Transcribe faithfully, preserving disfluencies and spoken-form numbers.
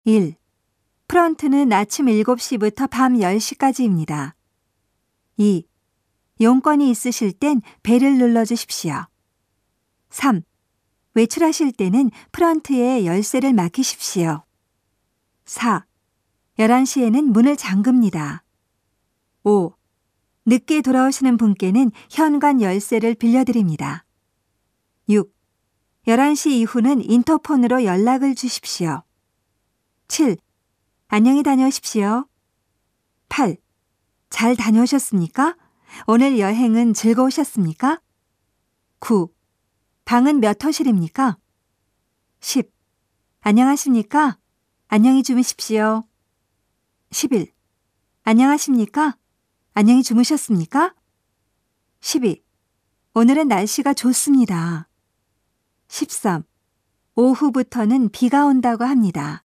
일. 프런트는 아침 일곱 시부터 밤 열 시까지입니다. 이. 용건이 있으실 땐 벨을 눌러주십시오. 삼. 외출하실 때는 프런트에 열쇠를 맡기십시오. 사. 열한 시에는 문을 잠급니다. 오. 늦게 돌아오시는 분께는 현관 열쇠를 빌려드립니다. 육. 열한 시 이후는 인터폰으로 연락을 주십시오. 칠. 안녕히 다녀오십시오. 팔. 잘 다녀오셨습니까? 오늘 여행은 즐거우셨습니까? 구. 방은 몇 호실입니까? 십. 안녕하십니까? 안녕히 주무십시오. 십일. 안녕하십니까? 안녕히 주무셨습니까? 십이. 오늘은 날씨가 좋습니다. 십삼. 오후부터는 비가 온다고 합니다.